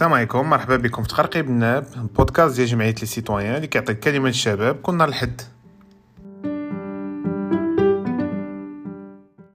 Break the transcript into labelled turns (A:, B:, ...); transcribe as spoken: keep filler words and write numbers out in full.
A: السلام عليكم، مرحبا بكم في تقرقيب الناب، بودكاست ديال جمعيه لي سيتويان اللي كيعطيك كلمه الشباب كل نهار الحد.